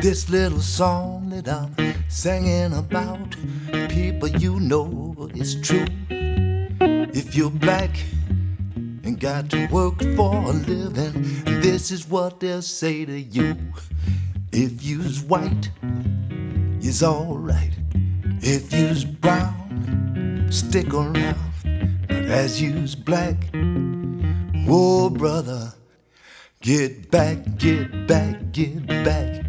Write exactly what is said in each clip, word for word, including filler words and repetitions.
This little song that I'm singing about, people, you know it's true. If you're black and got to work for a living, this is what they'll say to you. If you's white, you's alright. If you's brown, stick around. But as you's black, whoa brother, get back, get back, get back.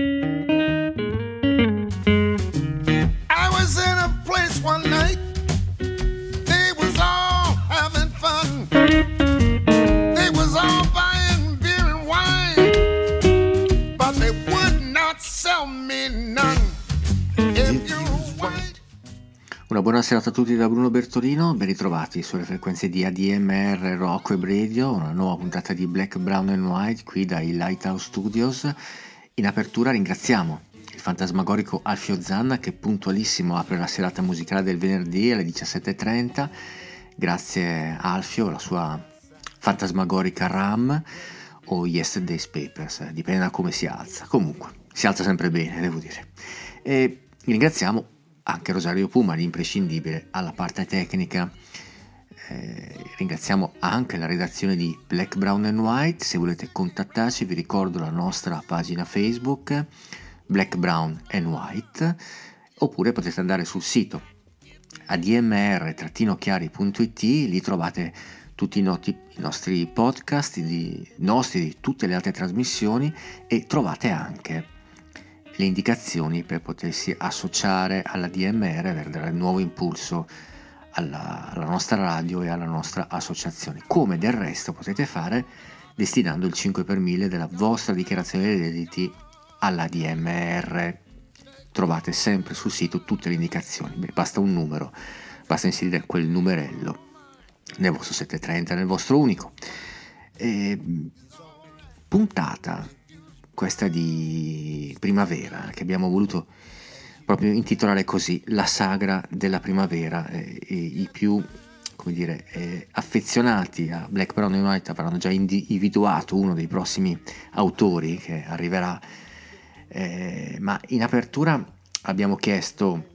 I was in a place one night, they was all having fun. They was all buying beer and wine, but they would not sell me none. If you're white. Una buona serata a tutti da Bruno Bertolino, ben ritrovati sulle frequenze di A D M R Rock Web Radio, una nuova puntata di Black, Brown and White qui dai Lighthouse Studios. In apertura ringraziamo il fantasmagorico Alfio Zanna che puntualissimo apre la serata musicale del venerdì alle diciassette e trenta. Grazie a Alfio, la sua fantasmagorica RAM o Yesterday's Papers, dipende da come si alza. Comunque, si alza sempre bene, devo dire. E ringraziamo anche Rosario Puma, l'imprescindibile, alla parte tecnica. Eh, ringraziamo anche la redazione di Black, Brown and White. Se volete contattarci vi ricordo la nostra pagina Facebook Black, Brown and White, oppure potete andare sul sito a d m r chiari punto i t. Lì trovate tutti i, noti, i nostri podcast, i nostri di tutte le altre trasmissioni, e trovate anche le indicazioni per potersi associare alla D M R per dare nuovo impulso alla, alla nostra radio e alla nostra associazione, come del resto potete fare destinando il cinque per mille della vostra dichiarazione dei redditi alla D M R. Trovate sempre sul sito tutte le indicazioni. Beh, basta un numero, basta inserire quel numerello nel vostro settecentotrenta, nel vostro unico. E, puntata questa di primavera che abbiamo voluto proprio intitolare così, la sagra della primavera. E, e i più, come dire, eh, affezionati a Black, Brown and White avranno già individuato uno dei prossimi autori che arriverà, eh, ma in apertura abbiamo chiesto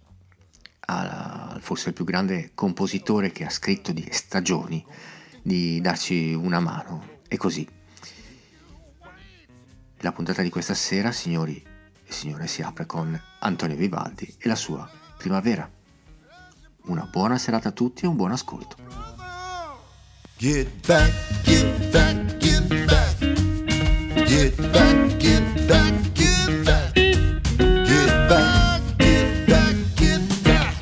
a forse il più grande compositore che ha scritto di stagioni di darci una mano, e così la puntata di questa sera, signori e signore, si apre con Antonio Vivaldi e la sua Primavera. Una buona serata a tutti e un buon ascolto. Get back, get back, get back. Get back, get back, get back. Get back, get back, get back.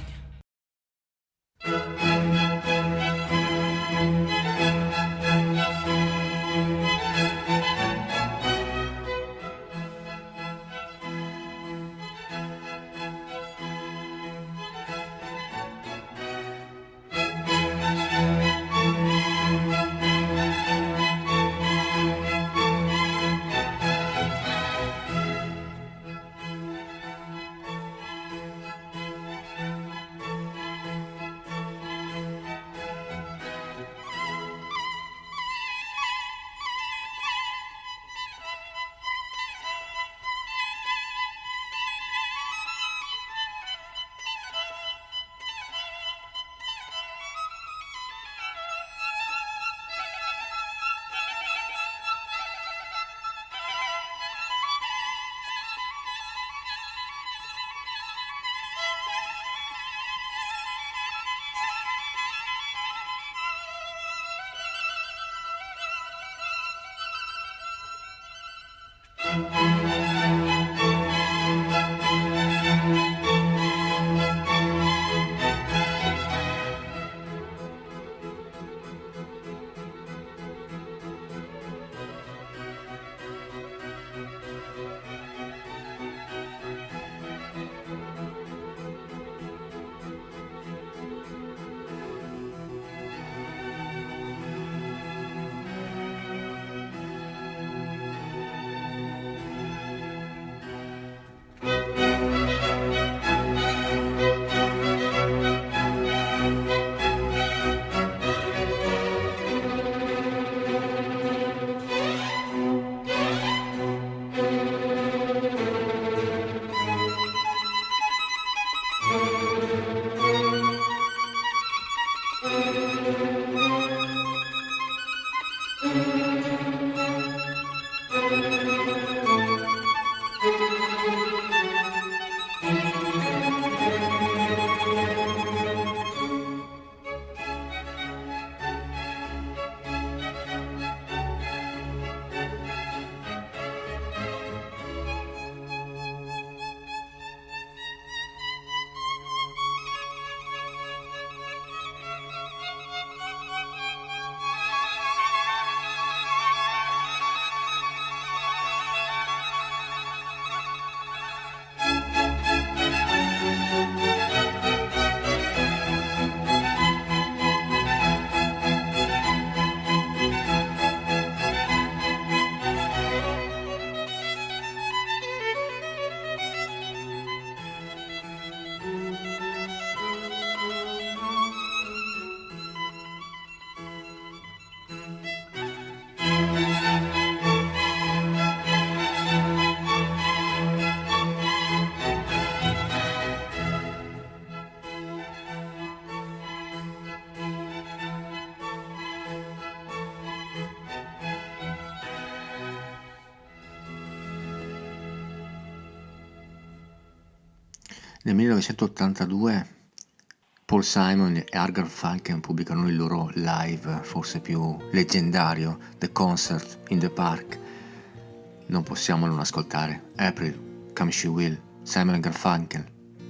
Nel millenovecentottantadue Paul Simon e Art Garfunkel pubblicano il loro live forse più leggendario, The Concert in the Park. Non possiamo non ascoltare April, Come She Will, Simon e Garfunkel.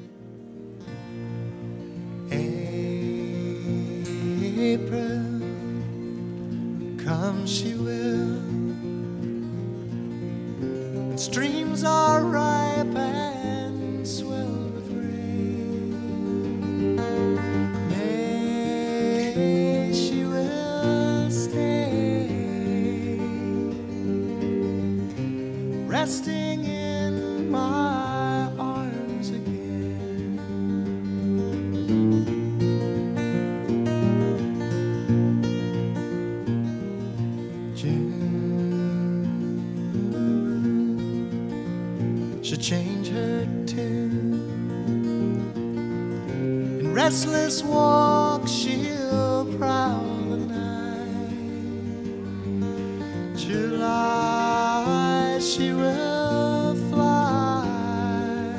April, come she will, and streams are ripe and swell with rain. May she will stay, resting in my arms again. Should change her tune. In restless walks she'll prowl the night. July she will fly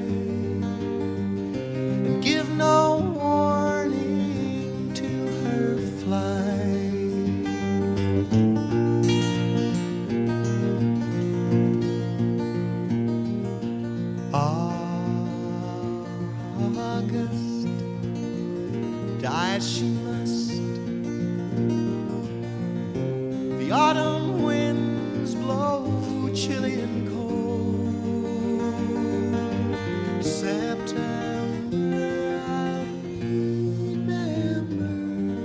and give no warning to her flight. August, die she must. The autumn winds blow chilly and cold. September, I remember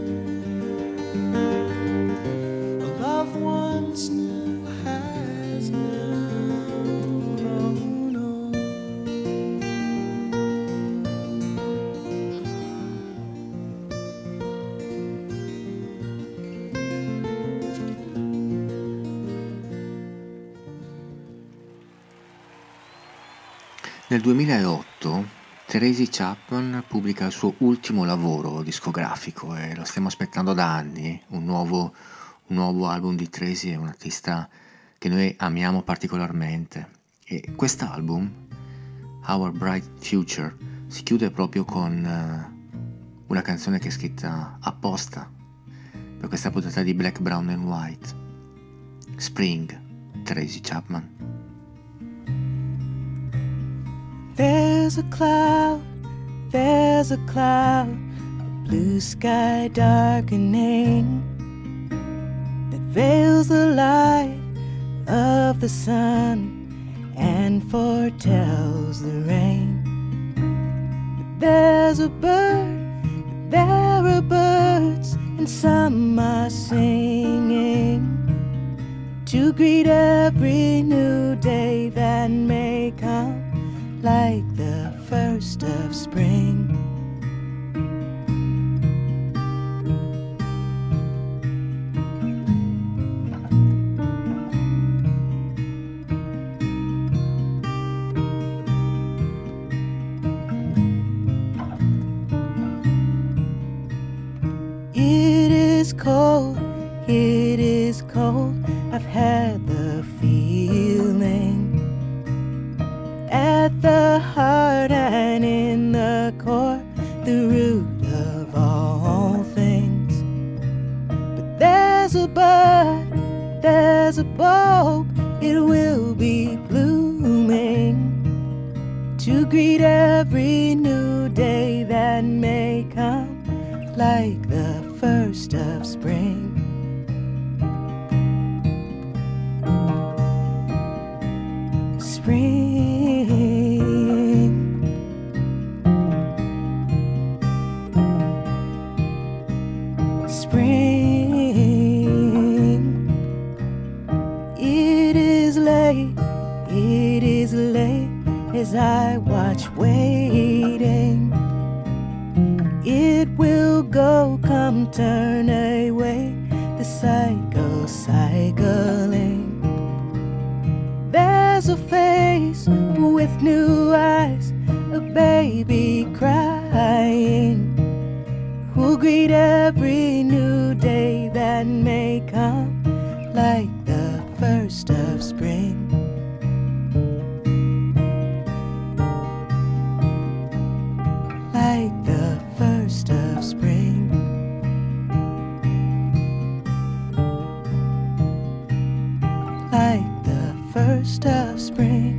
a loved one's new has now grown old. Nel duemilaotto Tracy Chapman pubblica il suo ultimo lavoro discografico e lo stiamo aspettando da anni, un nuovo, un nuovo album di Tracy, è un artista che noi amiamo particolarmente, e quest'album, Our Bright Future, si chiude proprio con uh, una canzone che è scritta apposta per questa puntata di Black, Brown and White, Spring, Tracy Chapman. There's a cloud, there's a cloud, a blue sky darkening that veils the light of the sun and foretells the rain. But there's a bird, there are birds, and some are singing to greet every new day that may come, like the first of spring. is cold, it is cold. I've had the feeling at the heart and in the core, the root of all things. But there's a bud, there's a bulb, it will be blooming to greet every new day that may come, like the first of spring. Spring, spring, it is late, it is late as I watch waiting. It will go, come turn away, the cycle cycling. There's a face with new eyes, a baby crying, who'll greet every new day that may come, like the first of spring. Like the first of spring. Like the first of spring.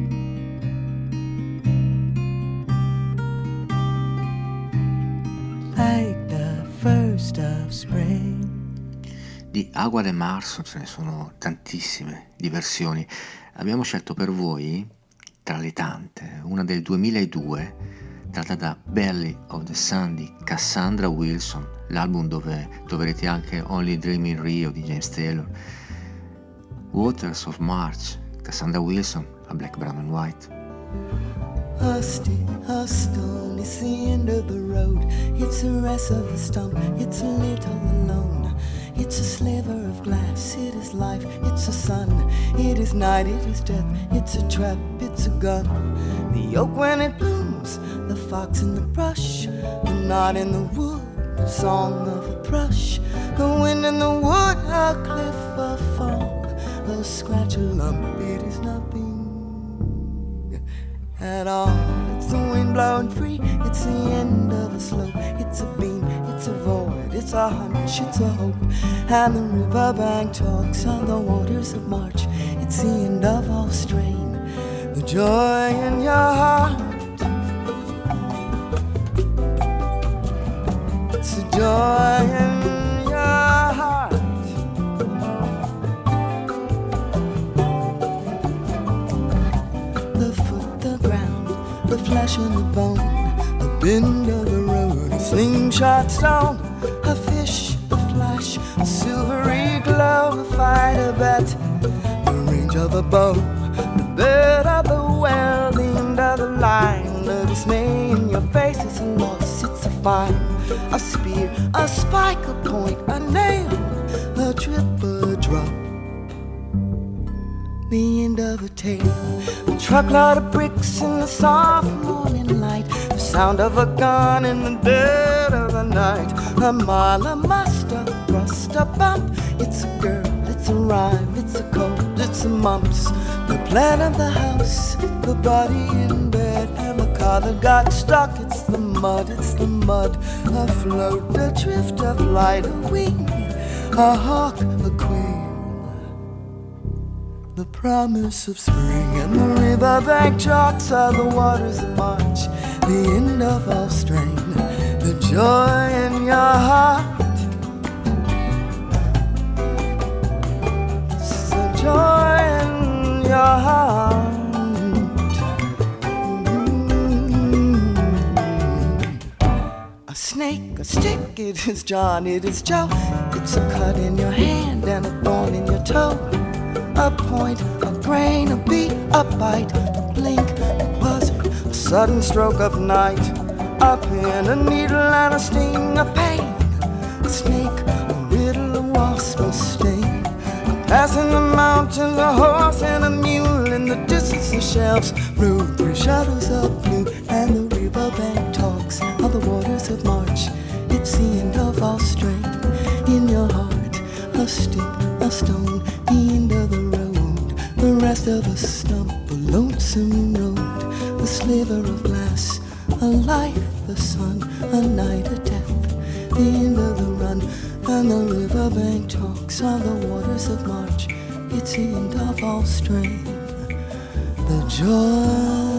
Like the first of spring. Di Agua de Marzo ce ne sono tantissime di versioni. Abbiamo scelto per voi, tra le tante, una del duemiladue tratta da Belly of the Sun di Cassandra Wilson, l'album dove troverete anche Only Dream in Rio di James Taylor. Waters of March, Cassandra Wilson, a Black, Brown and White. A stick, a stone, it's the end of the road. It's the rest of a stump, it's a little alone. It's a sliver of glass, it is life, it's a sun, it is night, it is death, it's a trap, it's a gun. The oak when it blooms, the fox in the brush, the knot in the wood, the song of a thrush, the wind in the wood, a cliff, a fall, a scratch, a lump, it is nothing at all. It's the wind blowing free, it's the end of a slope, it's a beam, it's a void, it's a hunch, it's a hope. And the riverbank talks on the waters of March, it's the end of all strain, the joy in your heart. It's the joy in your heart. The foot, the ground, the flesh and the bone, the bend of the road, a slingshot stone, a fish, a flash, a silvery glow, a fight, a bet, the range of a bow, the bed of the well, the end of the line, the dismay in your face, it's a loss, it's a fine, a spear, a spike, a point, a nail, a trip, a drop, the end of a tale, a truckload of bricks in the soft morning light, the sound of a gun in the dead of the night, a mile, a muster, a thrust, a bump, it's a girl, it's a rhyme, it's a cold, it's a mumps, the plan of the house, the body in bed, and the car that got stuck, it's the mud, it's the mud, a float, a drift of light, a wing, a hawk, a queen. The promise of spring and the riverbank chalks are the waters of March, the end of all strain, the joy in your heart. It's the joy in your heart. Mm-hmm. A snake, a stick, it is John, it is Joe. It's a cut in your hand and a thorn in your toe. A point, a grain, a beat, a bite, a blink, a buzzard, a sudden stroke of night, a pin, a needle and a sting, a pain, a snake, a riddle, a wasp, a sting, a pass in the mountains, a horse and a mule, in the distance the shelves rule three shadows of blue, and the riverbank talks of the waters of March. It's the end of all strength in your heart. stick, a stone, the end of the road, the rest of a stump, a lonesome road, a sliver of glass, a life, a sun, a night, a death, the end of the run, and the riverbank talks of the waters of March. It's the end of all strain, the joy.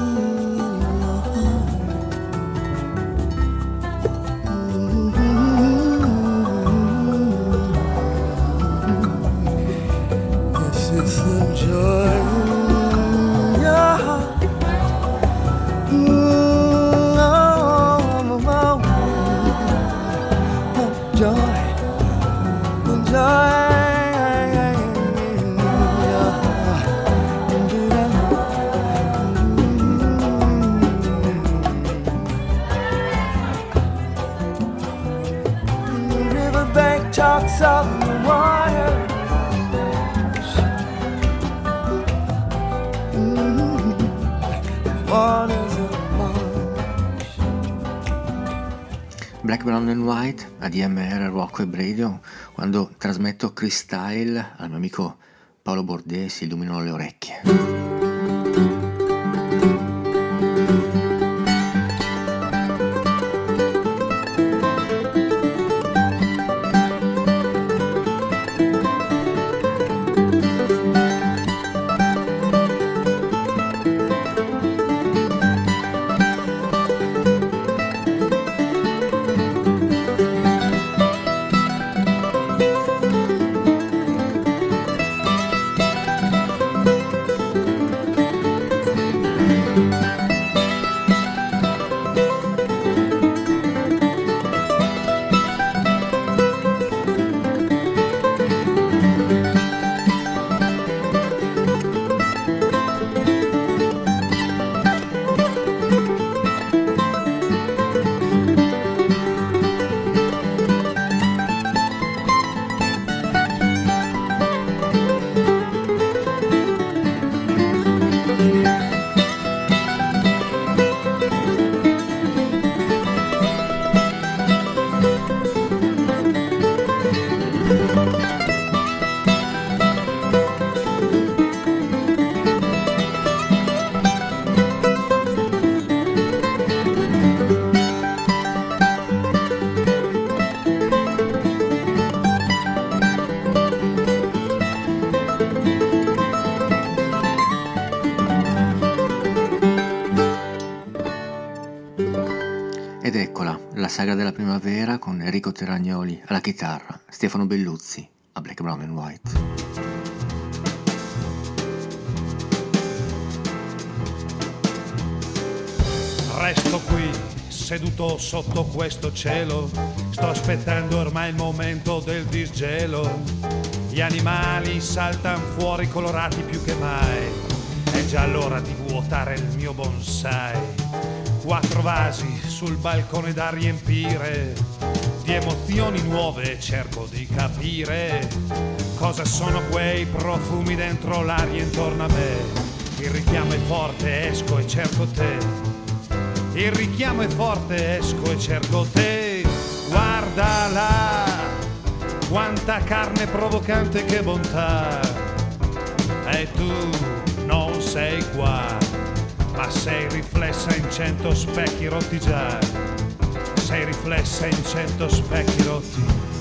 Talks of the water. Mm-hmm. Waters of March. Black, Brown and White, A D M R, Rock Web Radio. Quando trasmetto Cristyle al mio amico Paolo Bordè si illuminano le orecchie. Ed eccola, la saga della primavera con Enrico Terragnoli alla chitarra, Stefano Belluzzi a Black, Brown and White. Resto qui, seduto sotto questo cielo, sto aspettando ormai il momento del disgelo. Gli animali saltano fuori colorati più che mai, è già l'ora di vuotare il mio bonsai. Quattro vasi sul balcone da riempire di emozioni nuove, cerco di capire cosa sono quei profumi dentro l'aria intorno a me. Il richiamo è forte, esco e cerco te. Il richiamo è forte, esco e cerco te. Guarda là, quanta carne provocante, che bontà. E tu non sei qua, ma sei riflessa in cento specchi rotti già. Sei riflessa in cento specchi rotti.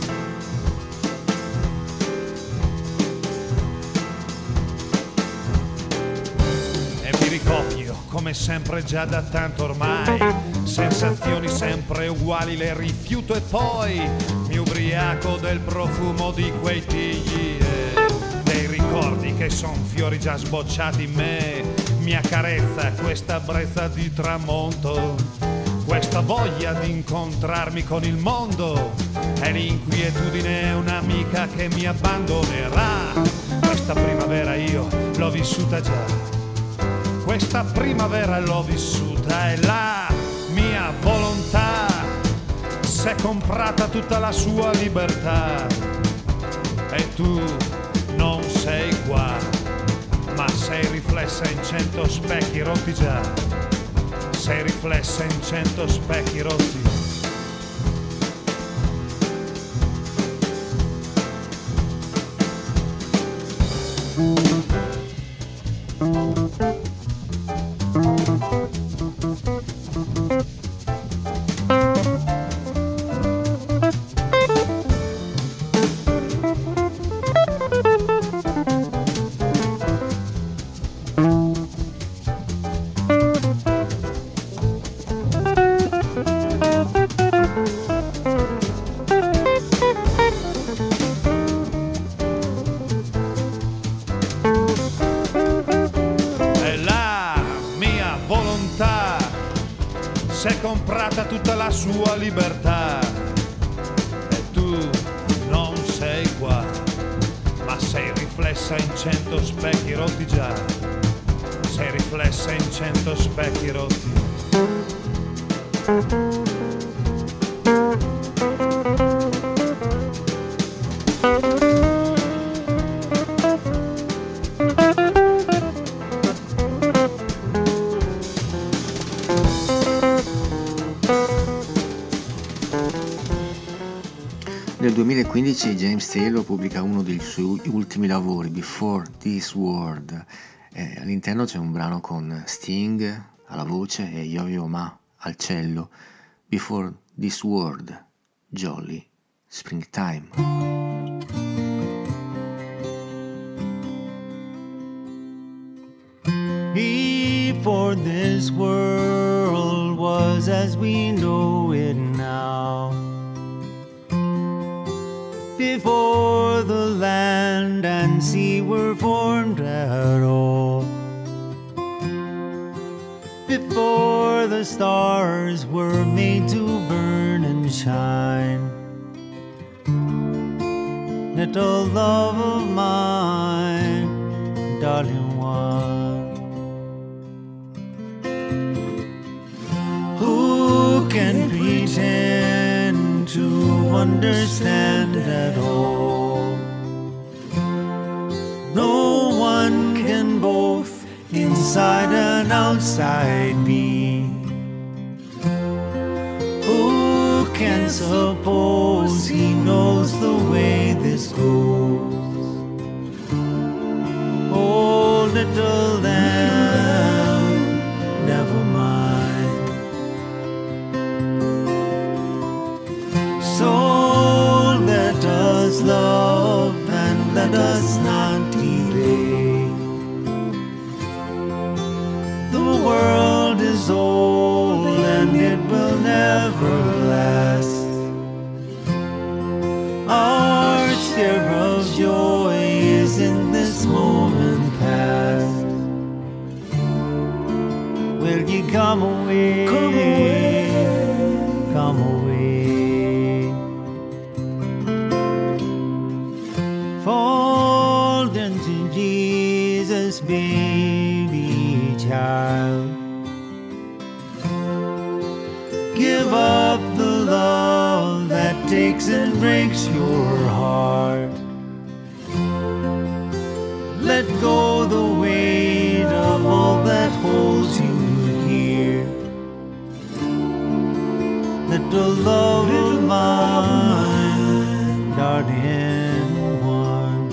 E mi ricopio come sempre già da tanto ormai. Sensazioni sempre uguali le rifiuto e poi mi ubriaco del profumo di quei tigli e dei ricordi che son fiori già sbocciati in me. Mi accarezza questa brezza di tramonto, questa voglia di incontrarmi con il mondo, e l'inquietudine è un'amica che mi abbandonerà. Questa primavera io l'ho vissuta già, questa primavera l'ho vissuta, e la mia volontà s'è comprata tutta la sua libertà. E tu non sei qua, ma sei riflessa in cento specchi rotti già. Sei riflessa in cento specchi rotti. comprata tutta la sua libertà. E tu non sei qua, ma sei riflessa in cento specchi rotti già. Sei riflessa in cento specchi rotti. Nel duemilaquindici James Taylor pubblica uno dei suoi ultimi lavori, Before This World. Eh, all'interno c'è un brano con Sting alla voce e Yo-Yo Ma al cello. Before This World, Jolly Springtime. Before this world was as we know it now, before the land and sea were formed at all, before the stars were made to burn and shine, little love of mine, darling one, who can pretend to understand at all? No one can both inside and outside be. Who can suppose he knows the way this goes? Oh, little lamb, never mind. So let us love and let us not delay. The world is old and it will never last. Our share of joy is in this moment past. Will you come away? Come away. Come away. Fall into Jesus, baby child. Give up the love that takes and breaks your heart. Let go the weight of all that holds you here. Let the love of mine, darling one.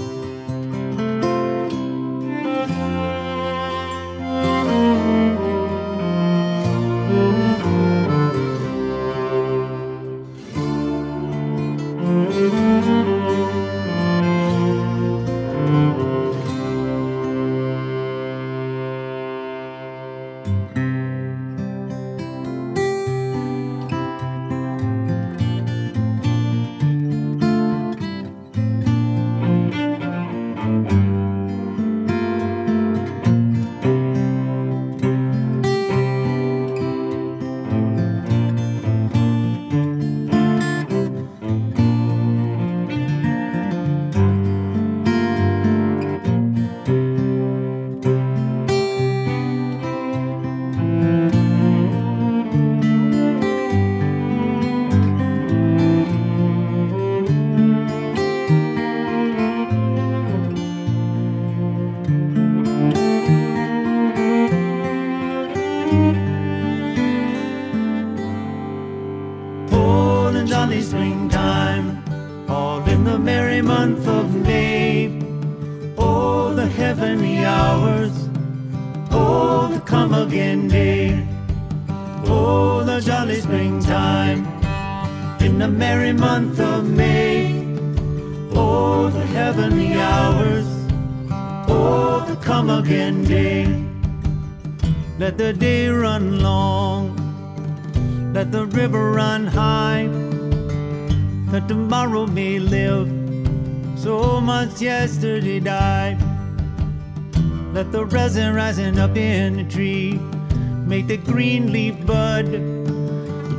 Jolly springtime, all in the merry month of May. Oh, the heavenly hours, oh, the come again day. Oh, the jolly springtime, in the merry month of May. Oh, the heavenly hours, oh, the come again day. Let the day run long, let the river run high, that tomorrow may live, so much yesterday died. Let the resin rising up in the tree make the green leaf bud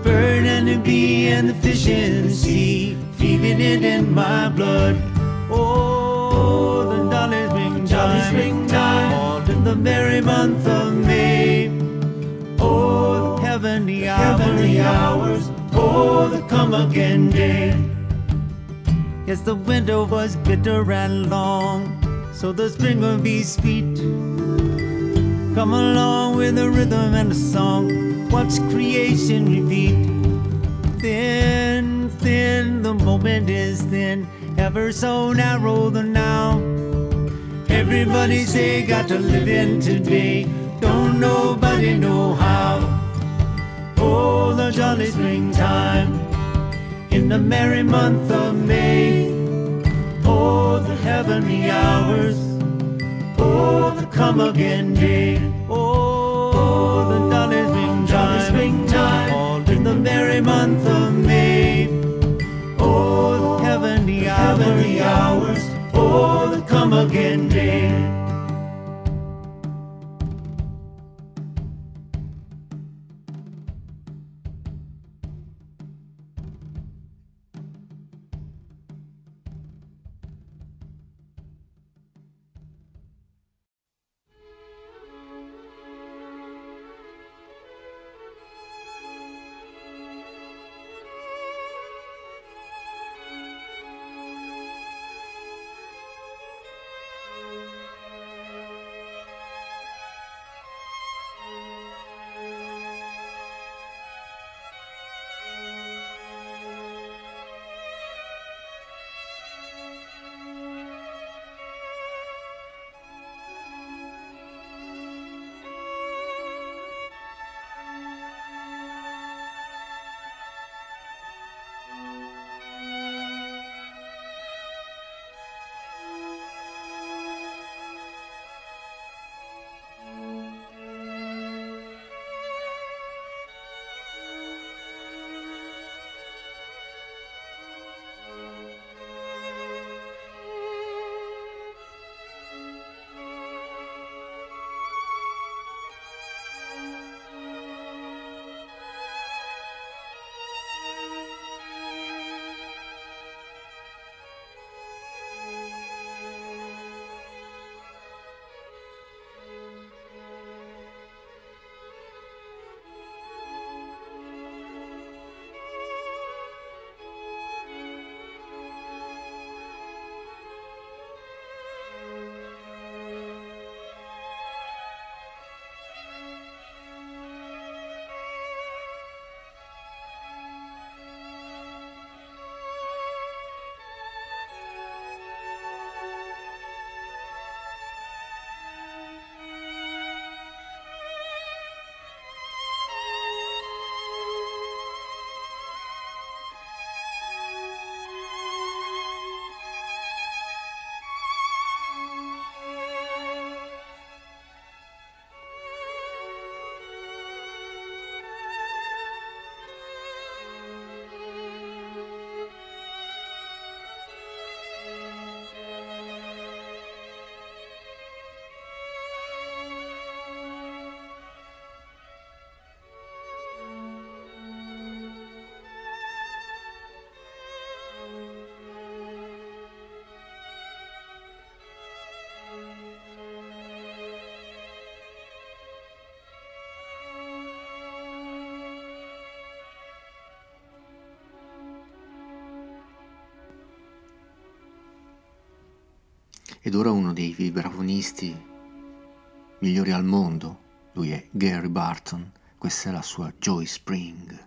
bird and the bee and the fish in the sea, feeling it in my blood. Oh, the jolly springtime, jolly springtime, all in the merry month of May. Oh, the heavenly hours, heavenly hours, oh, the come again day. Yes, the winter was bitter and long, so the spring will be sweet. Come along with the rhythm and the song, watch creation repeat. Thin, thin, the moment is thin, ever so narrow the now. Everybody say, got to live in today, don't nobody know how. Oh, the jolly springtime, in the merry month of May. Oh, the heavenly hours, oh, the come again day. Oh, the jolly springtime, jolly springtime, all in the merry month of May. Oh, the heavenly hours, heavenly hours, oh, the come again day. Ed ora uno dei vibrafonisti migliori al mondo, lui è Gary Barton, questa è la sua Joy Spring.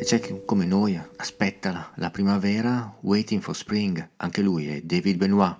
c'è chi come noi aspetta la, la primavera, Waiting for Spring, anche lui è David Benoit.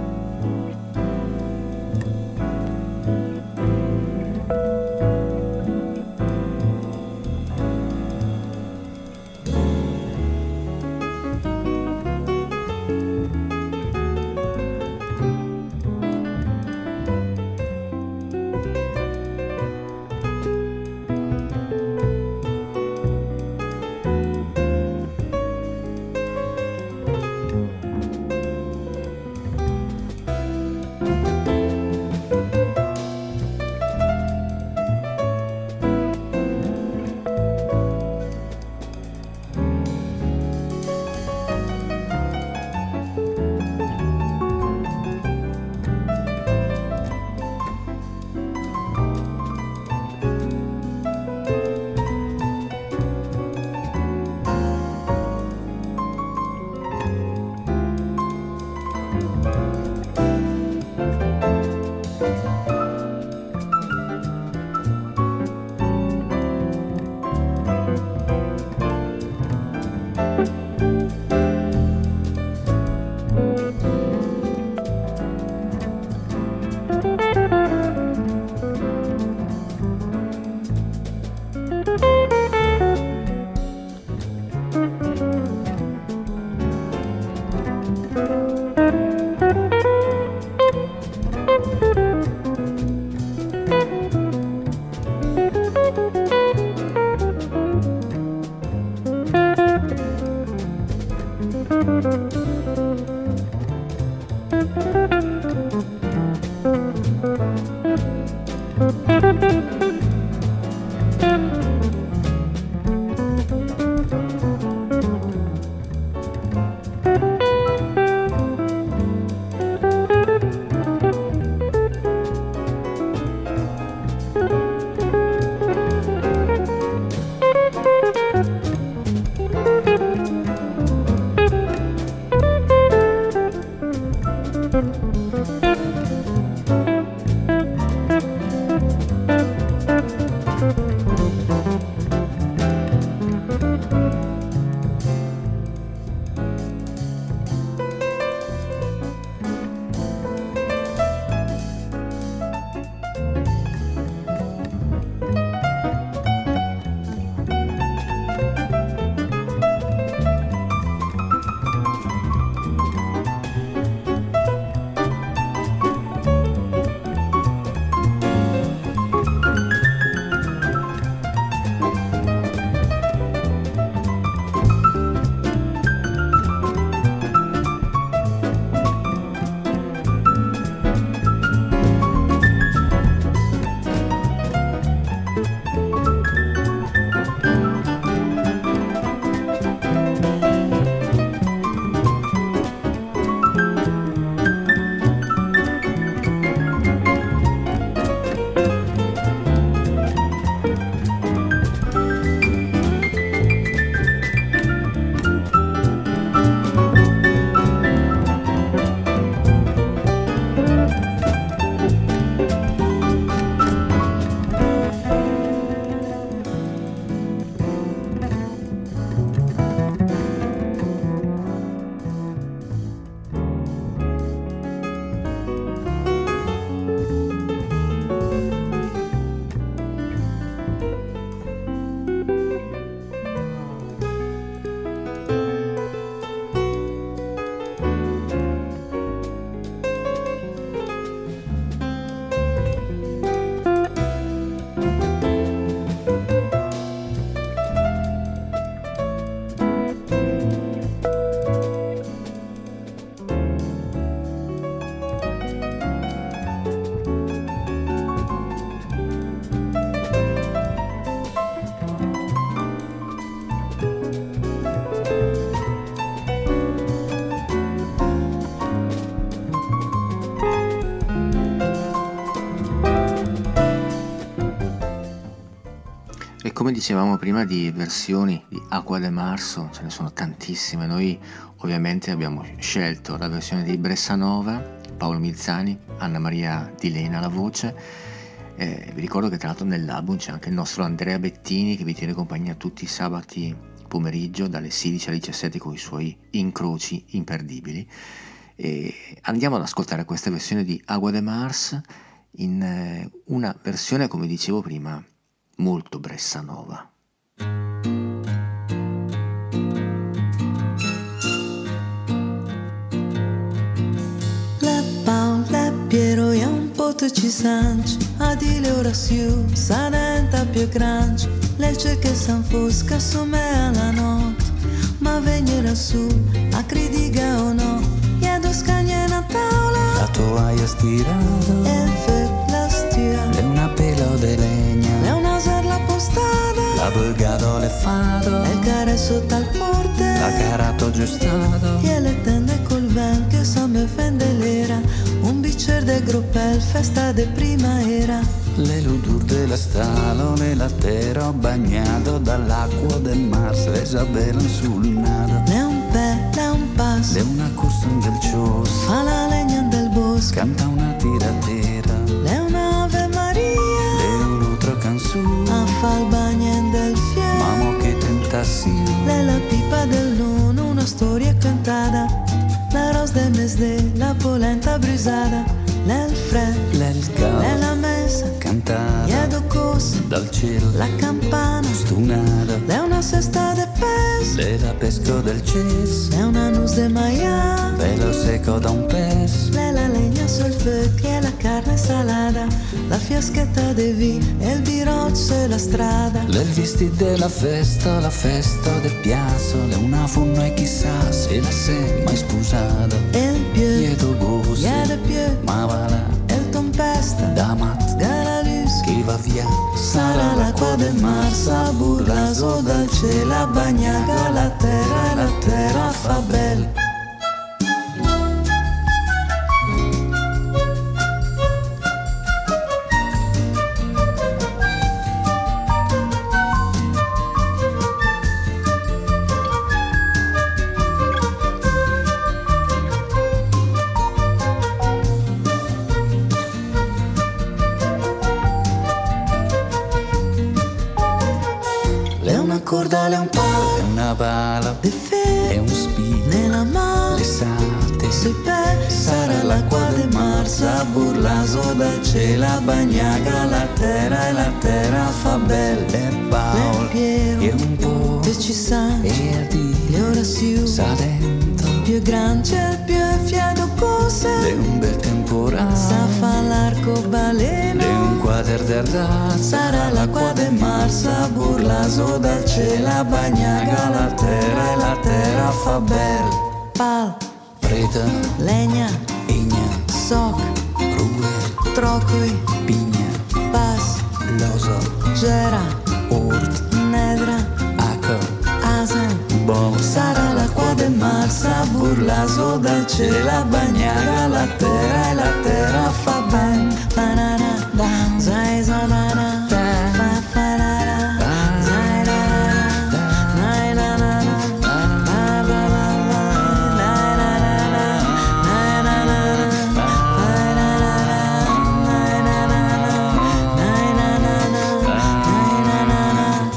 Come dicevamo prima di versioni di Acqua de Marzo, ce ne sono tantissime. Noi ovviamente abbiamo scelto la versione di Bressanova, Paolo Milzani, Anna Maria Di Lena alla voce. Eh, vi ricordo che tra l'altro nell'album c'è anche il nostro Andrea Bettini che vi tiene compagnia tutti i sabati pomeriggio dalle sedici alle diciassette con i suoi incroci imperdibili. E andiamo ad ascoltare questa versione di Agua de Mars in eh, una versione, come dicevo prima, molto bressa nova. Piero e un po' ci sanci, a dire ora siu, sa denta più grande, legge che s'anfosca su me alla notte, ma venire su, a critica o no, chiedo scagna in tavola, la toaia stirata, e il fe la stia, è una pelo de legna, è una serla postata, la bulgado le fado, e il care sotto al porte, la carato giustato, e le tende col ven che sa me fende l'era, un bicer de gruppel, festa de primavera. Le ludur della stalo, le lattero bagnato dall'acqua del Mars, le sabelano sul nado. Le un pe, le un passo, le una corsa del cios, fa la legna del bosco, canta una tiratera, le una Ave Maria, le un'altra canzone, a fa il bagno del fiero, mamo che tentazione, le la pipa del nono, una storia cantata, la rosa del mesde, la polenta brisata, nel freddo, l'el cal, nella messa, cantata, chiedo cosa, dal cielo, la campana, stunata, le una cesta de pes, le la pesco del ces, le una nus de maia, pelo secco da un pes, le la legna sul fuoco e la carne salata, la fiaschetta de vino e il birozzo e la strada, le il vestito della festa, la festa del piazzo, le una funno e chissà se la sei mai scusata, e il più, chiedo gosse, chiede più, ma va là, e il tempesta, da mat, Garalus, chi va via, sarà l'acqua del mar, sa burlaso dal cielo, a bagnaga la terra e la terra fa bel. Corda, le un palo, e una pala, De fe, e un spino, nella mano, le sate, sui pe, sarà l'acqua del mar, sa burlaso dal cielo, a bagnaga la terra e la terra fa bel, e Paolo, Piero, e un po', te ci sa, e a le dire, ora siu, sa dentro, più grande il più fiato cose, le un bel temporale, sa fa l'arco le baleno, un quader d'erdà, sarà l'acqua del mar, sa burlaso dal cielo, a bagnaga la terra e la terra fa bel. Pal, preta, legna, igna, soc, rue, trocoi, pigna, pas, loso, gera, ort, nedra, aco, asen, bo, sarà l'acqua del mar, sa burlaso dal cielo, a bagnaga la terra e la terra fa ben. Banana, zai zadana, fa farara, zai rara, nai na na na, ba ba ba ba, nai na na na, nai na na na, nai na na na, nai na na na, nai na na na, nai na na na.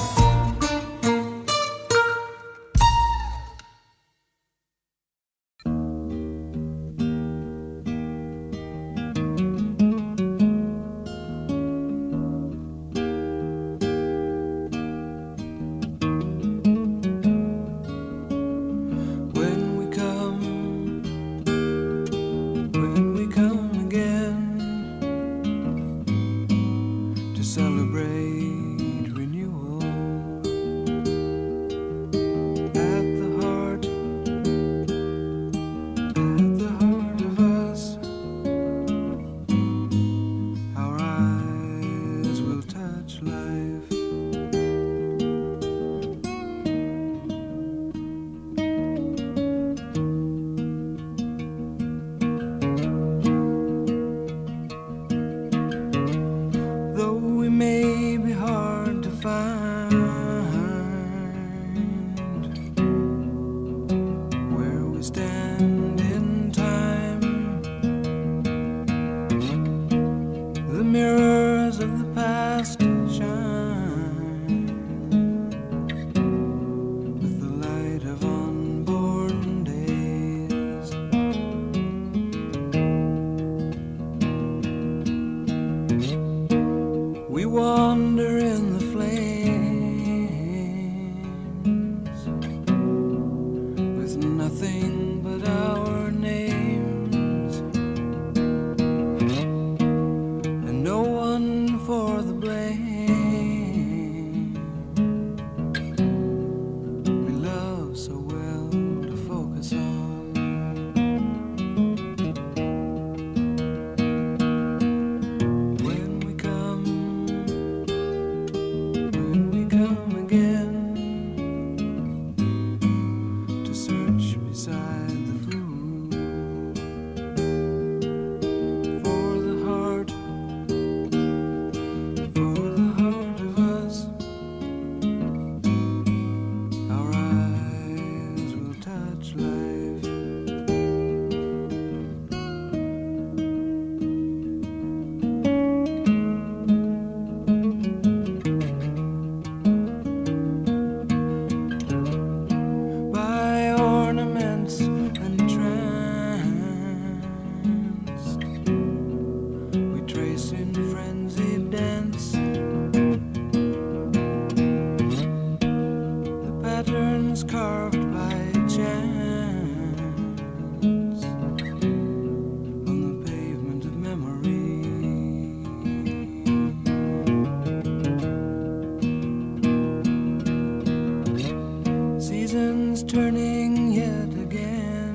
returning yet again.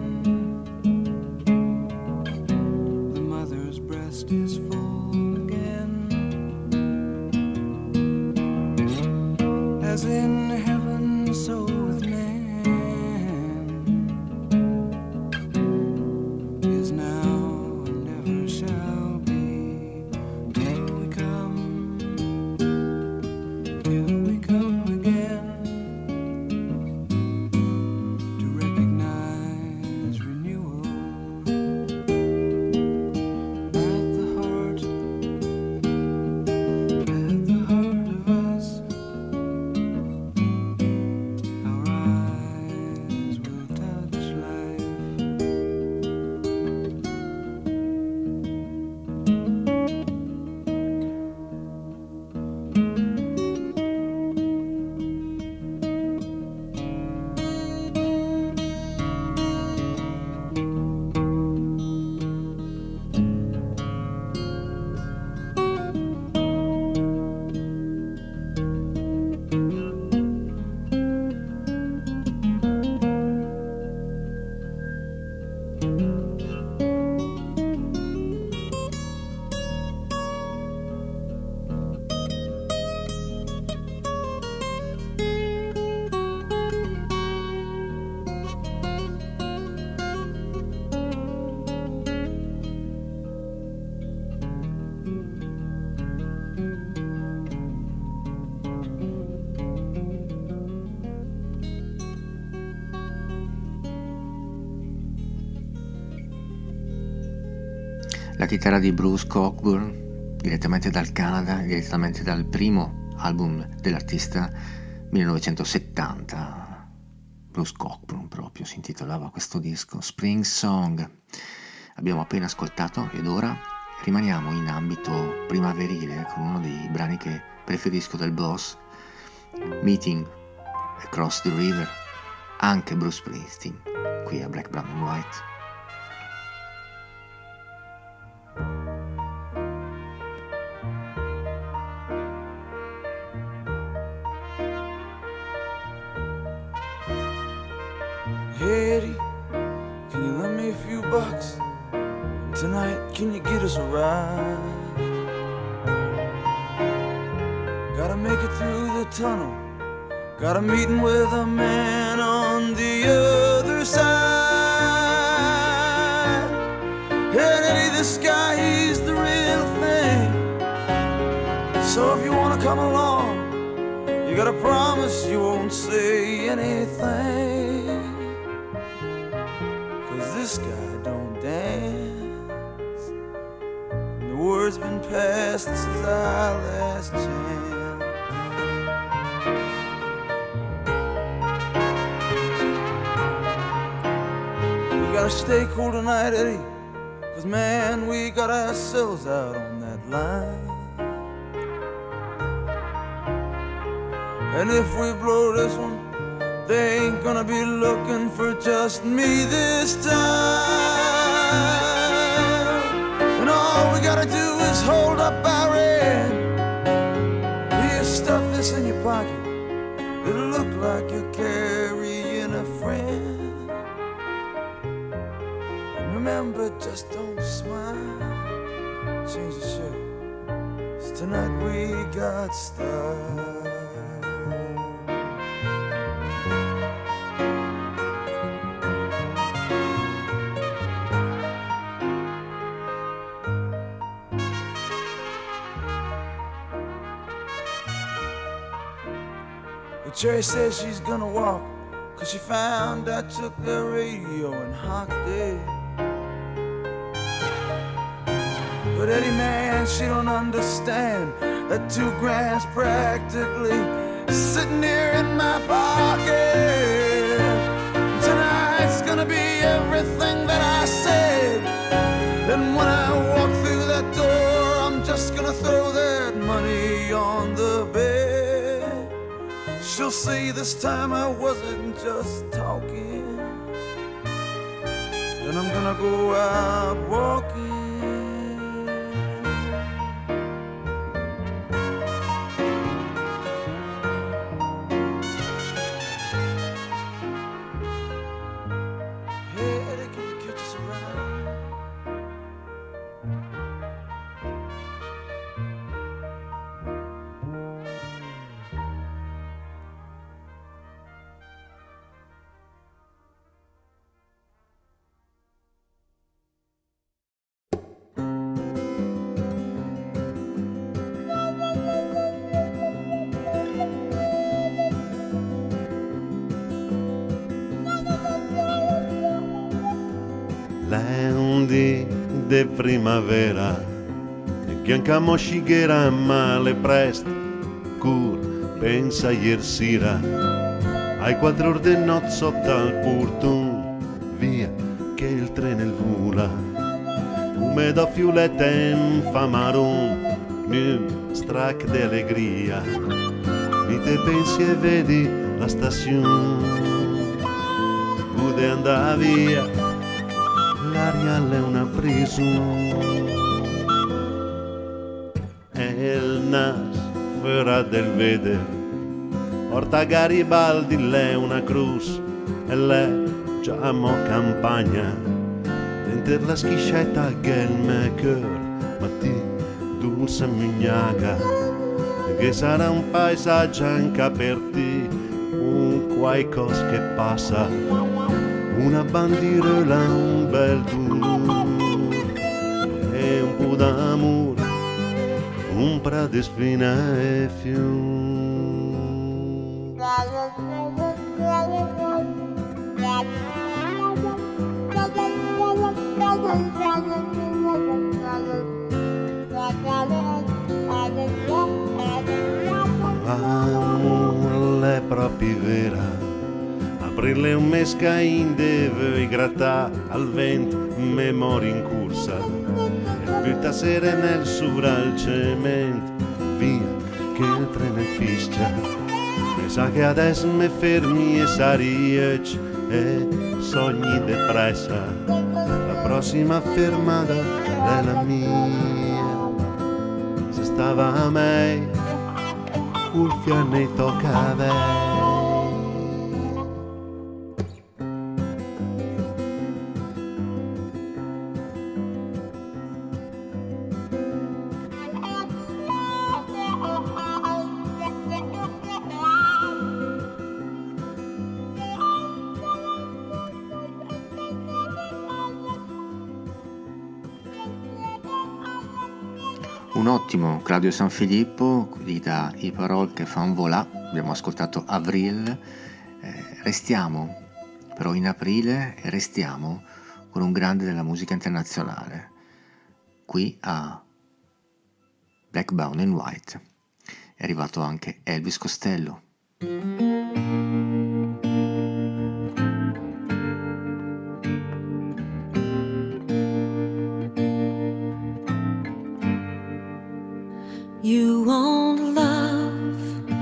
The mother's breast is full again, as in heaven so with man is now and never shall be, till we come, till we come again. La chitarra di Bruce Cockburn, direttamente dal Canada, direttamente dal primo album dell'artista millenovecentosettanta. Bruce Cockburn proprio si intitolava questo disco, Spring Song. Abbiamo appena ascoltato ed ora rimaniamo in ambito primaverile con uno dei brani che preferisco del Boss, Meeting Across the River, anche Bruce Springsteen, qui a Black, Brown and White. Hey Eddie, can you lend me a few bucks? Tonight, can you get us a ride? Gotta make it through the tunnel. Got a meeting with a man on the other side. Hey Eddie, this guy, he's the real thing. So if you wanna come along, you gotta promise you won't say anything. This guy don't dance, and the word's been passed, this is our last chance. We gotta stay cool tonight, Eddie, cause man, we got ourselves out on that line. And if we blow this one, they ain't gonna be looking for just me this time. And all we gotta do is hold up our end. You stuff this in your pocket, it'll look like you're carrying a friend. And remember, just don't smile, change the shirt, 'cause tonight we got style. Cherry says she's gonna walk, cause she found I took the radio and hocked it. But Eddie, man, she don't understand that two grand's practically sitting here in my pocket. Tonight's gonna be everything that I said. And when I walk through that door, I'm just gonna throw that money on the bed. She'll see this time I wasn't just talking. Then I'm gonna go out walking. de primavera, che anche moscighiera male presto, cur pensa ier sera, ai quattro ore de notte sotto al portone, via che il treno il vola, come da fiuletta in famaron, un strac d'allegria, mi te pensi e vedi la stazione, pude andare via, l'aria è una prison, e il nas fuori del veder, porta Garibaldi, lei una cruz, e lei già mo campagna, dentro la schiscetta che il mio cœur, ma ti dulce mignaga, che sarà un paesaggio anche per te, un qualcosa che passa, una bandiera, un bel dolore e un po' d'amore, un pra di spina e fiume. L'amore è proprio vera, aprirle un mescain deve grattare al vento, memoria in corsa, e buttasere nel sura al cemento, via che il treno fischia, mi sa che adesso mi fermi e sariec e sogni depressa, la prossima fermata è la mia, se stava a me, cuffia ne tocca a lei. Un ottimo Claudio Sanfilippo, qui da I Parole che fan volà, abbiamo ascoltato Avril, eh, restiamo però in aprile e restiamo con un grande della musica internazionale, qui a Black, Brown and White, è arrivato anche Elvis Costello. You want love,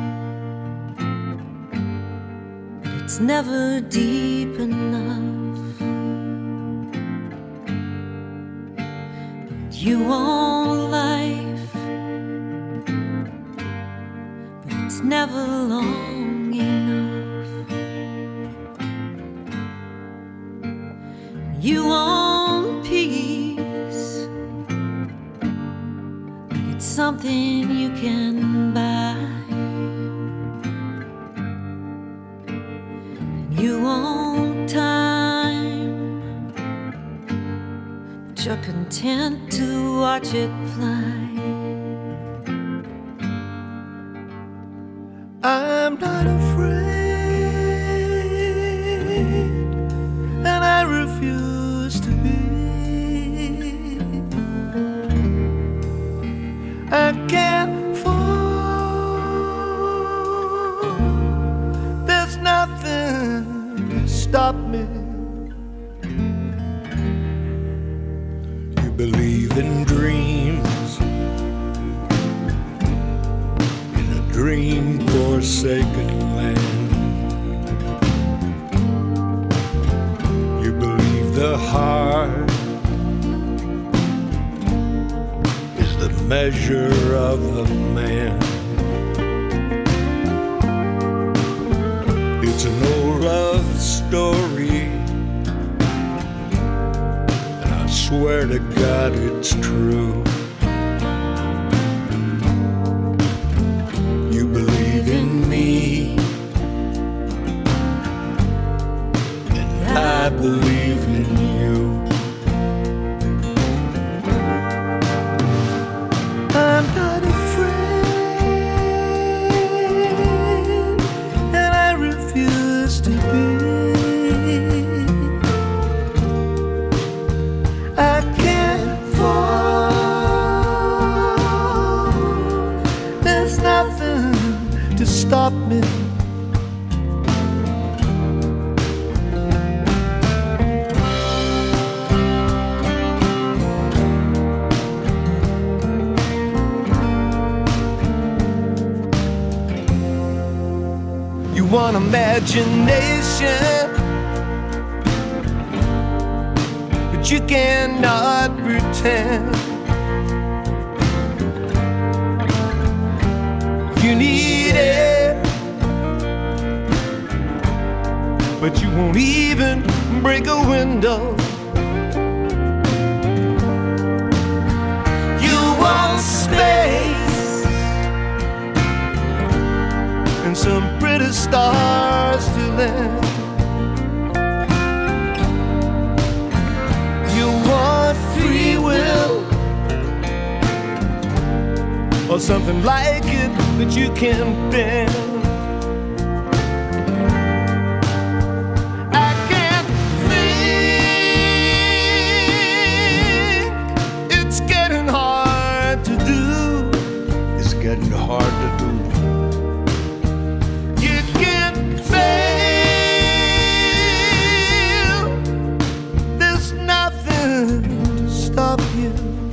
but it's never deep enough. You want life, but it's never long enough. You want peace, something you can buy. You want time, but you're content to watch it fly. I'm not afraid, and I refuse to be. I can't fall, there's nothing to stop me. You believe in dreams, in a dream forsaken land. You believe the heart measure of a man. It's an old love story, and I swear to God it's true. You believe in me, and I believe in you. I'm not afraid, and I refuse to be. I can't stop me. You want imagination, but you cannot pretend. You need it, but you won't even break a window. You want space and some pretty stars to land. You want free will or something like it that you can bend. I can't think. It's getting hard to do. It's getting hard to do. You can't fail. There's nothing to stop you.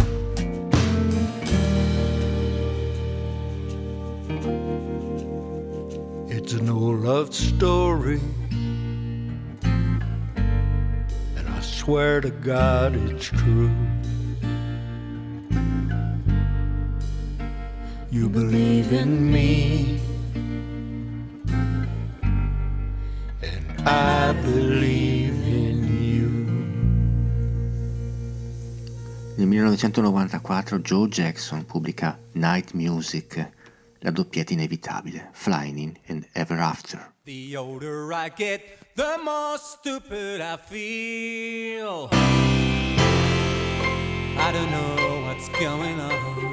It's an old love story, and I swear to God it's true. You believe in me, and I believe in you. Nel millenovecentonovantaquattro Joe Jackson pubblica Night Music, la doppietta inevitabile, Flying In and Ever After. The older I get, the more stupid I feel. I don't know what's going on.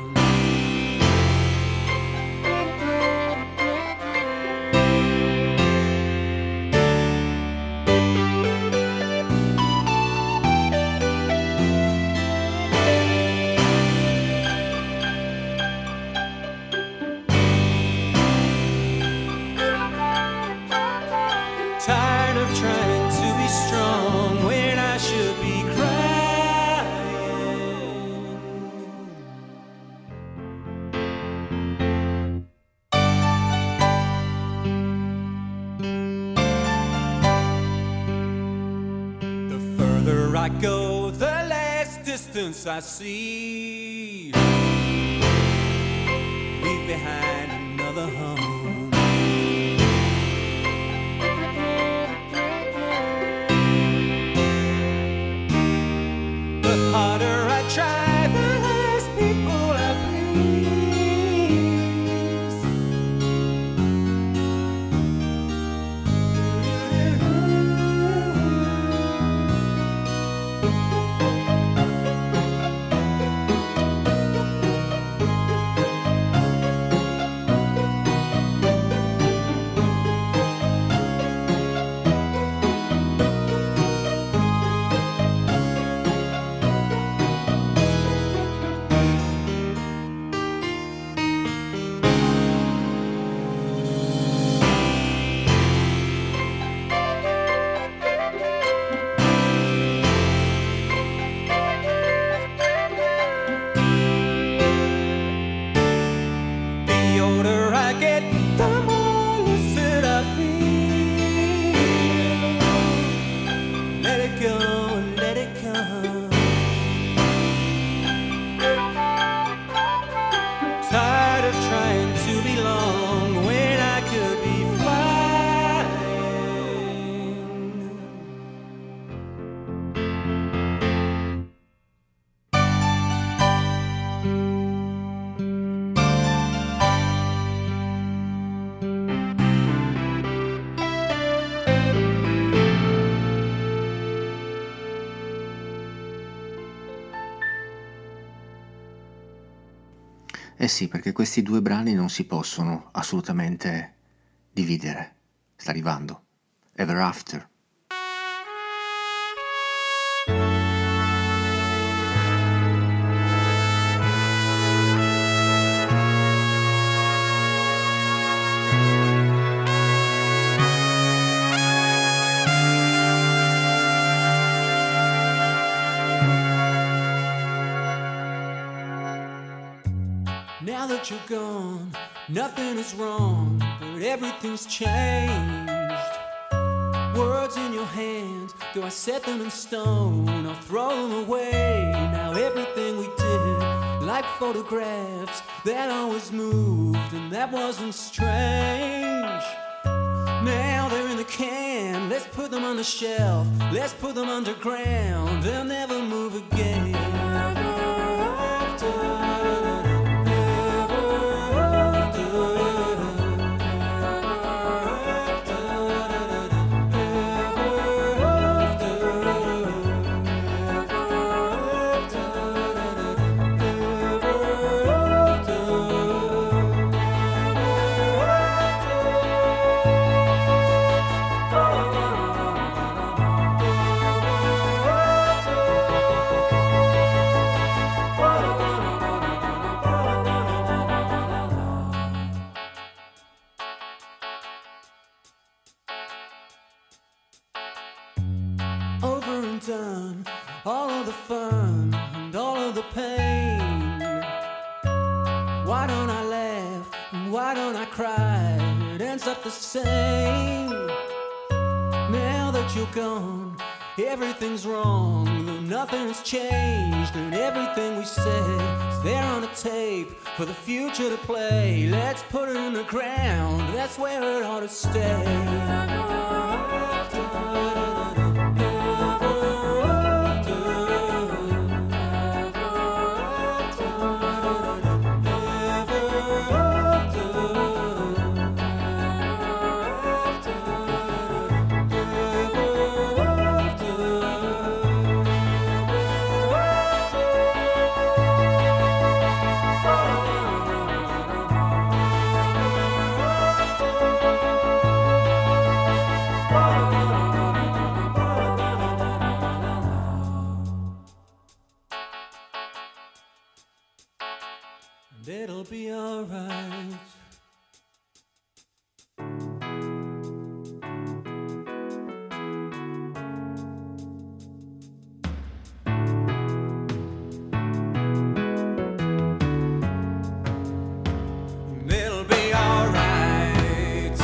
Tired of trying to be strong when I should be crying. The further I go, the less distance I see. Leave behind another home. The harder I try, the less people I Eh sì, perché questi due brani non si possono assolutamente dividere. Sta arrivando. Ever After. Thank that you're gone, nothing is wrong, but everything's changed. Words in your hand, do I set them in stone or throw them away? Now everything we did, like photographs, that always moved and that wasn't strange. Now they're in the can, let's put them on the shelf, let's put them underground, they'll never move again. Done all of the fun and all of the pain. Why don't I laugh and why don't I cry? It ends up the same. Now that you're gone, everything's wrong, though nothing's changed, and everything we said is there on a tape for the future to play. Let's put it in the ground, that's where it ought to stay. It'll be alright. It'll be alright.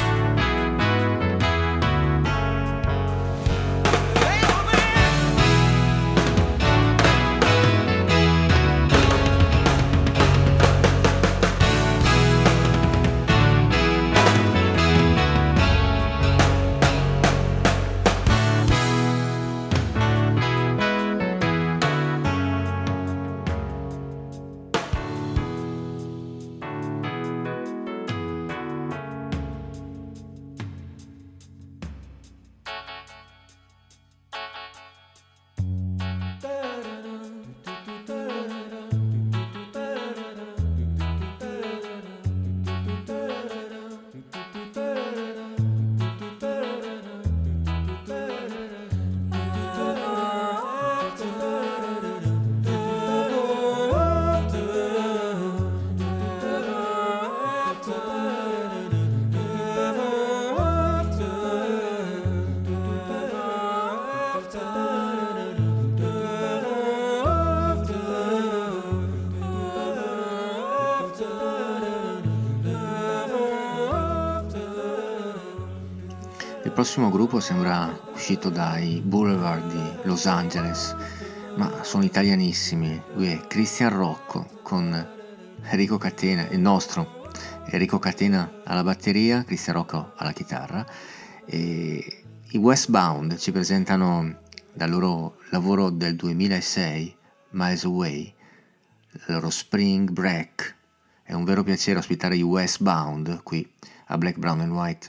Il prossimo gruppo sembra uscito dai Boulevard di Los Angeles, ma sono italianissimi. Lui è Cristian Rocco con Enrico Catena, il nostro Enrico Catena alla batteria, Cristian Rocco alla chitarra, e i Westbound ci presentano dal loro lavoro del duemilasei, Miles Away, il loro Spring Break. È un vero piacere ospitare i Westbound qui a Black, Brown and White.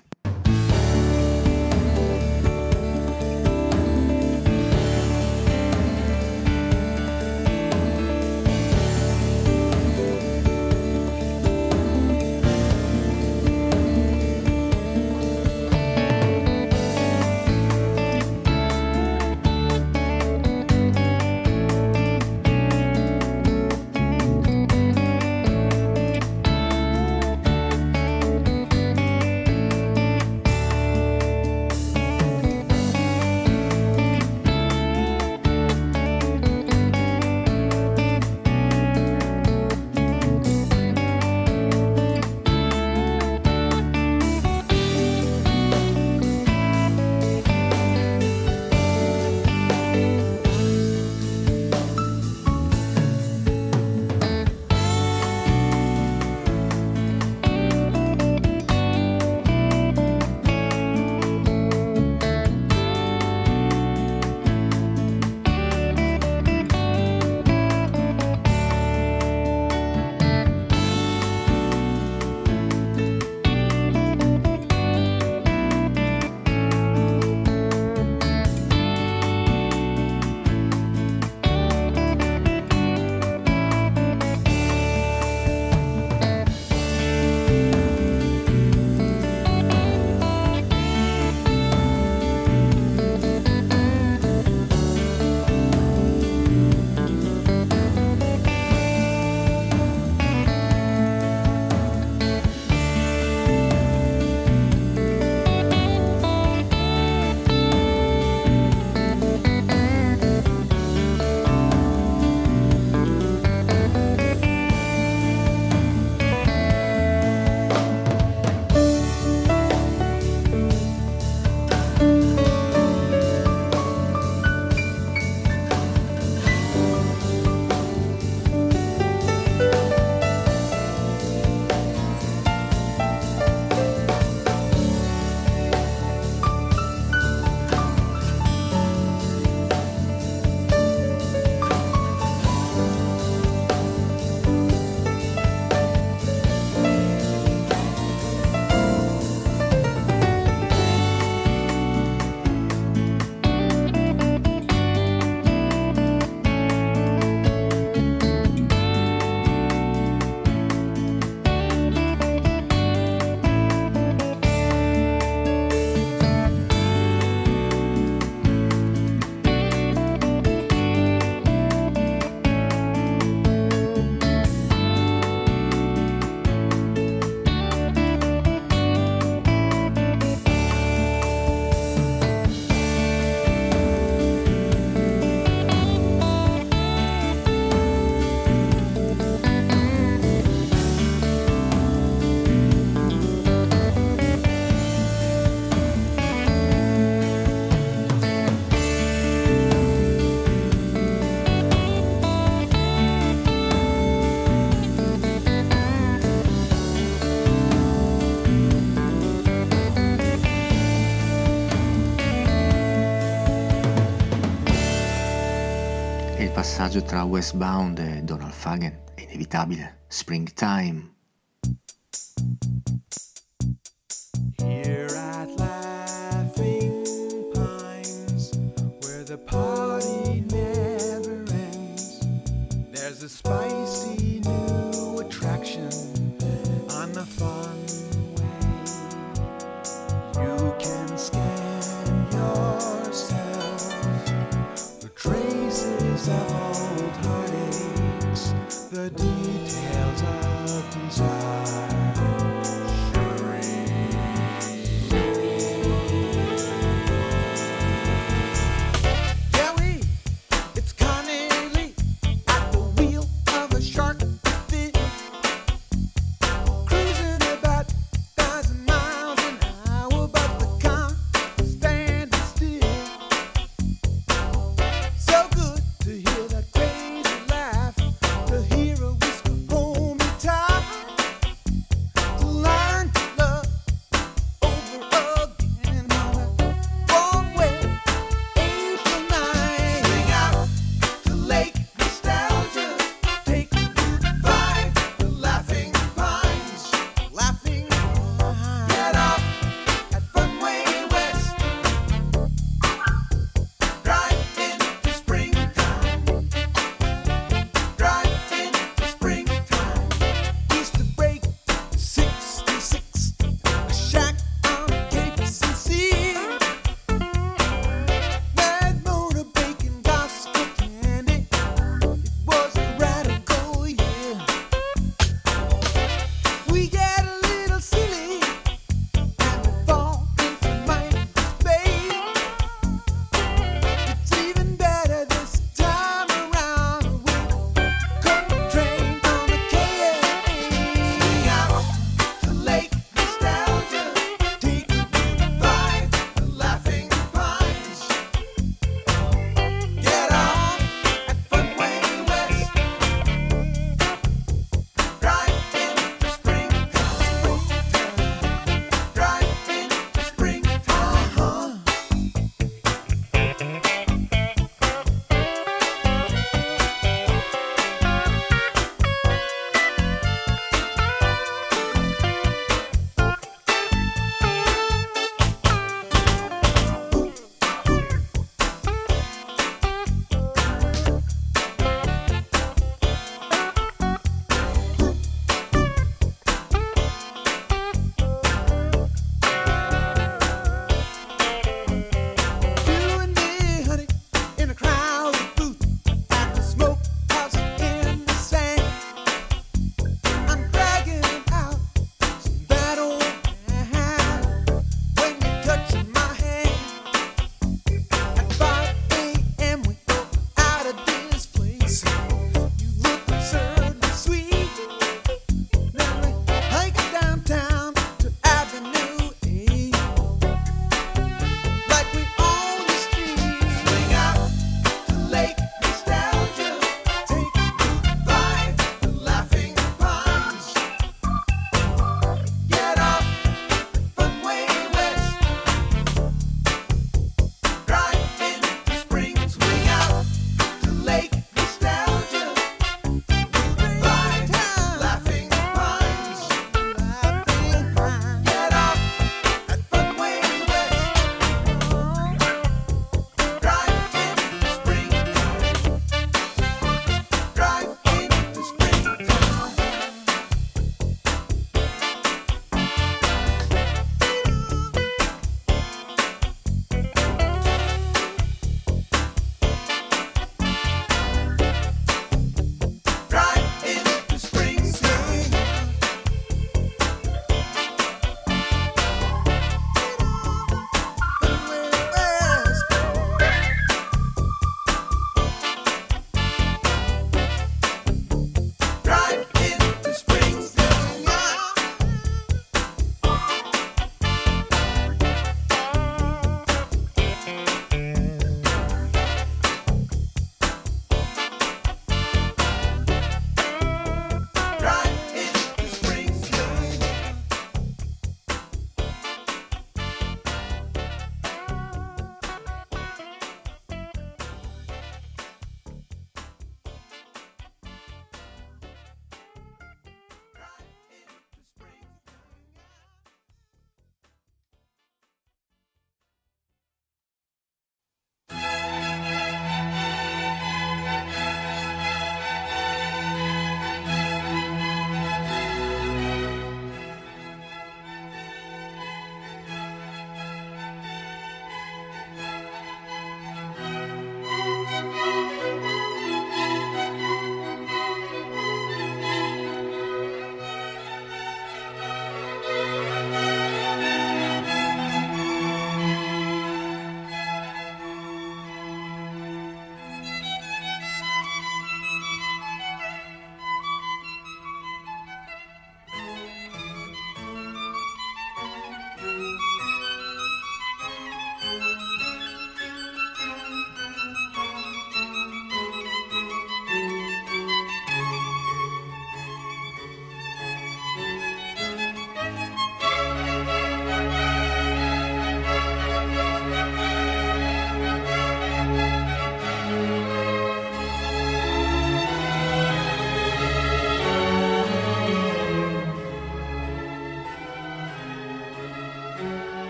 passaggio tra Westbound e Donald Fagen è inevitabile. Springtime. Here at Laughing Pines, where the party never ends, there's a spicy new attraction on the fun way. You can scan yourself for traces of old heartaches, the details of desire.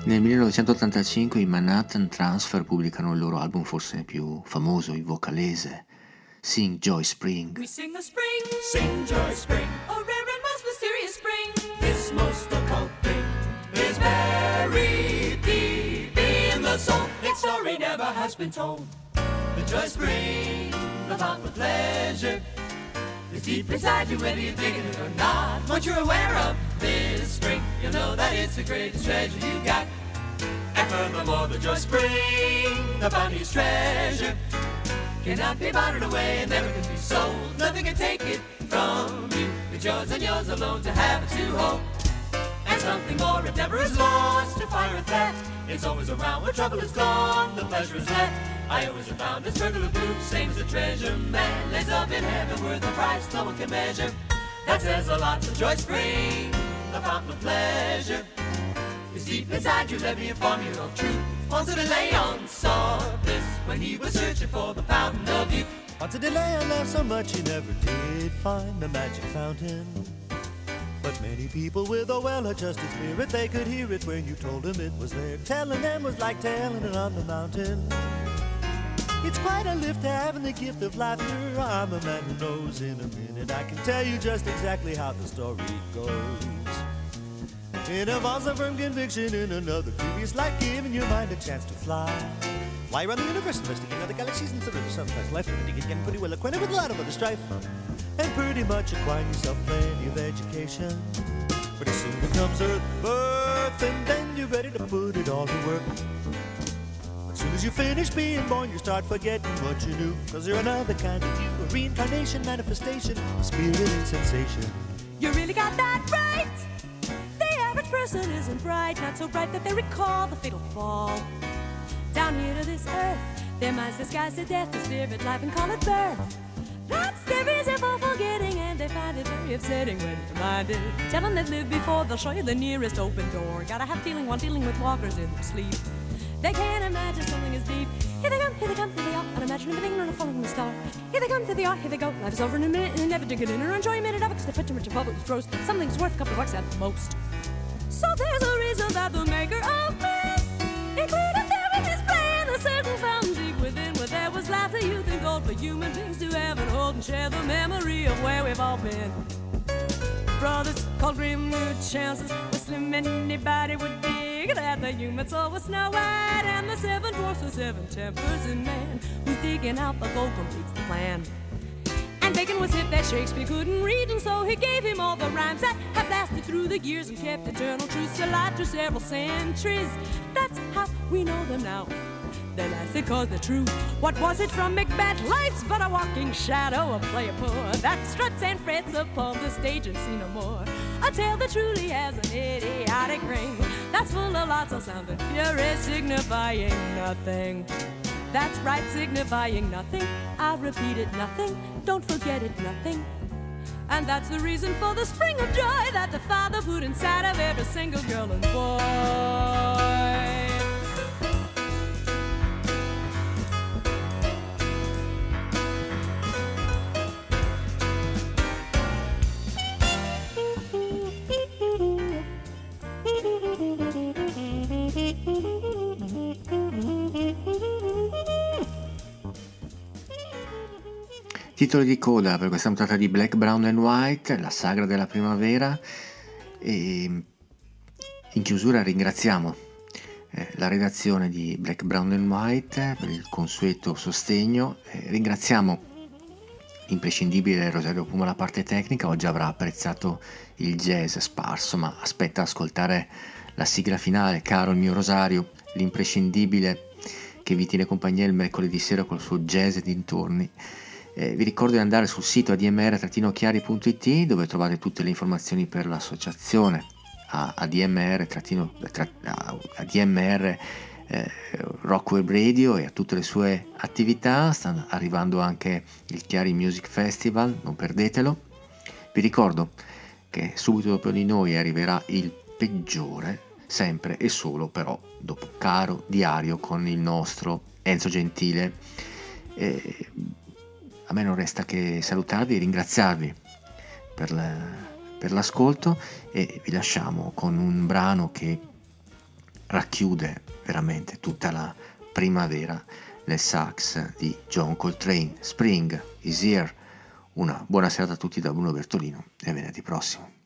Nel millenovecentottantacinque i Manhattan Transfer pubblicano il loro album forse più famoso, il vocalese, Sing Joy Spring. We sing the spring, sing Joy Spring, a rare and most mysterious spring. This most occult thing is buried deep in the soul. Its story never has been told. The Joy Spring, the fountain of pleasure, is deep inside you whether you think it or not. Once you're aware of this spring, you'll know that it's the greatest treasure you got. And furthermore, the Joy Spring, the bounty's treasure, cannot be bartered away and never can be sold. Nothing can take it from you. It's yours and yours alone to have it to hold. And something more, it never is lost to fire a theft. It's always around when trouble is gone, the pleasure is left. I always have found this regular proof, same as a treasure man lays up in heaven worth a price no one can measure. That says a lot. The Joy Spring, the fountain of pleasure, is deep inside you. Let me inform you of truth. Ponce de Leon saw this when he was searching for the fountain of youth. Ponce de Leon laughed so much he never did find the magic fountain. But many people with a well-adjusted spirit, they could hear it when you told them it was there. Telling them was like telling it on the mountain. It's quite a lift having the gift of laughter. I'm a man who knows. In a minute I can tell you just exactly how the story goes. It involves a firm conviction in another previous life, giving your mind a chance to fly. Fly around the universe, investigating other galaxies and surrender sometimes life, and getting pretty well acquainted with a lot of other strife, and pretty much acquiring yourself plenty of education. Pretty soon becomes Earth birth, and then you're ready to put it all to work. As soon as you finish being born, you start forgetting what you knew, cause you're another kind of you, a reincarnation, manifestation, spirit and sensation. You really got that right. The person isn't bright, not so bright that they recall the fatal fall. Down here to this earth, their minds disguise to death, the spirit life and call it birth. That's their reason for forgetting, and they find it very upsetting when reminded. Tell them they've lived before, they'll show you the nearest open door. Gotta have feeling while dealing with walkers in their sleep. They can't imagine something as deep. Here they come, here they come, here they are, unimagining everything on a falling star. Here they come, here they are, here they go. Life is over in a minute, and they never dig it in or enjoy a minute of it, cause they put too much above it was gross. Something's worth a couple of bucks at the most. So there's a reason that the maker of man included there in his plan a certain fountain deep within, where there was laughter, youth, and gold for human beings to have and hold and share the memory of where we've all been. Brothers called grim new chances, where slim anybody would dig that the human soul was Snow White, and the seven dwarfs were seven tempers in man, who's digging out the gold completes the plan. And Bacon was hip that Shakespeare couldn't read, and so he gave him all the rhymes that have lasted through the years and kept eternal truths alive through several centuries. That's how we know them now. They lasted cause they're true. What was it from Macbeth? Life's but a walking shadow, a player poor that struts and frets upon the stage and see no more. A tale that truly has an idiotic ring, that's full of lots of sound and fury, signifying nothing. That's right, signifying nothing. I repeat it, nothing. Don't forget it, nothing. And that's the reason for the spring of joy that the Father put inside of every single girl and boy. Titolo di coda per questa puntata di Black, Brown and White, la sagra della primavera. E in chiusura ringraziamo eh, la redazione di Black, Brown and White per il consueto sostegno. Eh, ringraziamo l'imprescindibile Rosario Puma la parte tecnica. Oggi avrà apprezzato il jazz sparso, ma aspetta ascoltare la sigla finale. Caro il mio Rosario, l'imprescindibile che vi tiene compagnia il mercoledì sera col suo jazz e dintorni. Eh, vi ricordo di andare sul sito a d m r chiari punto i t, dove trovate tutte le informazioni per l'associazione a, a D M R, trattino, tra, a, a D M R eh, Rock Web Radio e a tutte le sue attività. Sta arrivando anche il Chiari Music Festival, non perdetelo. Vi ricordo che subito dopo di noi arriverà il peggiore, sempre e solo però dopo Caro Diario con il nostro Enzo Gentile. Eh, A me non resta che salutarvi e ringraziarvi per, la, per l'ascolto, e vi lasciamo con un brano che racchiude veramente tutta la primavera nel sax di John Coltrane. Spring is here. Una buona serata a tutti da Bruno Bertolino e a venerdì prossimo.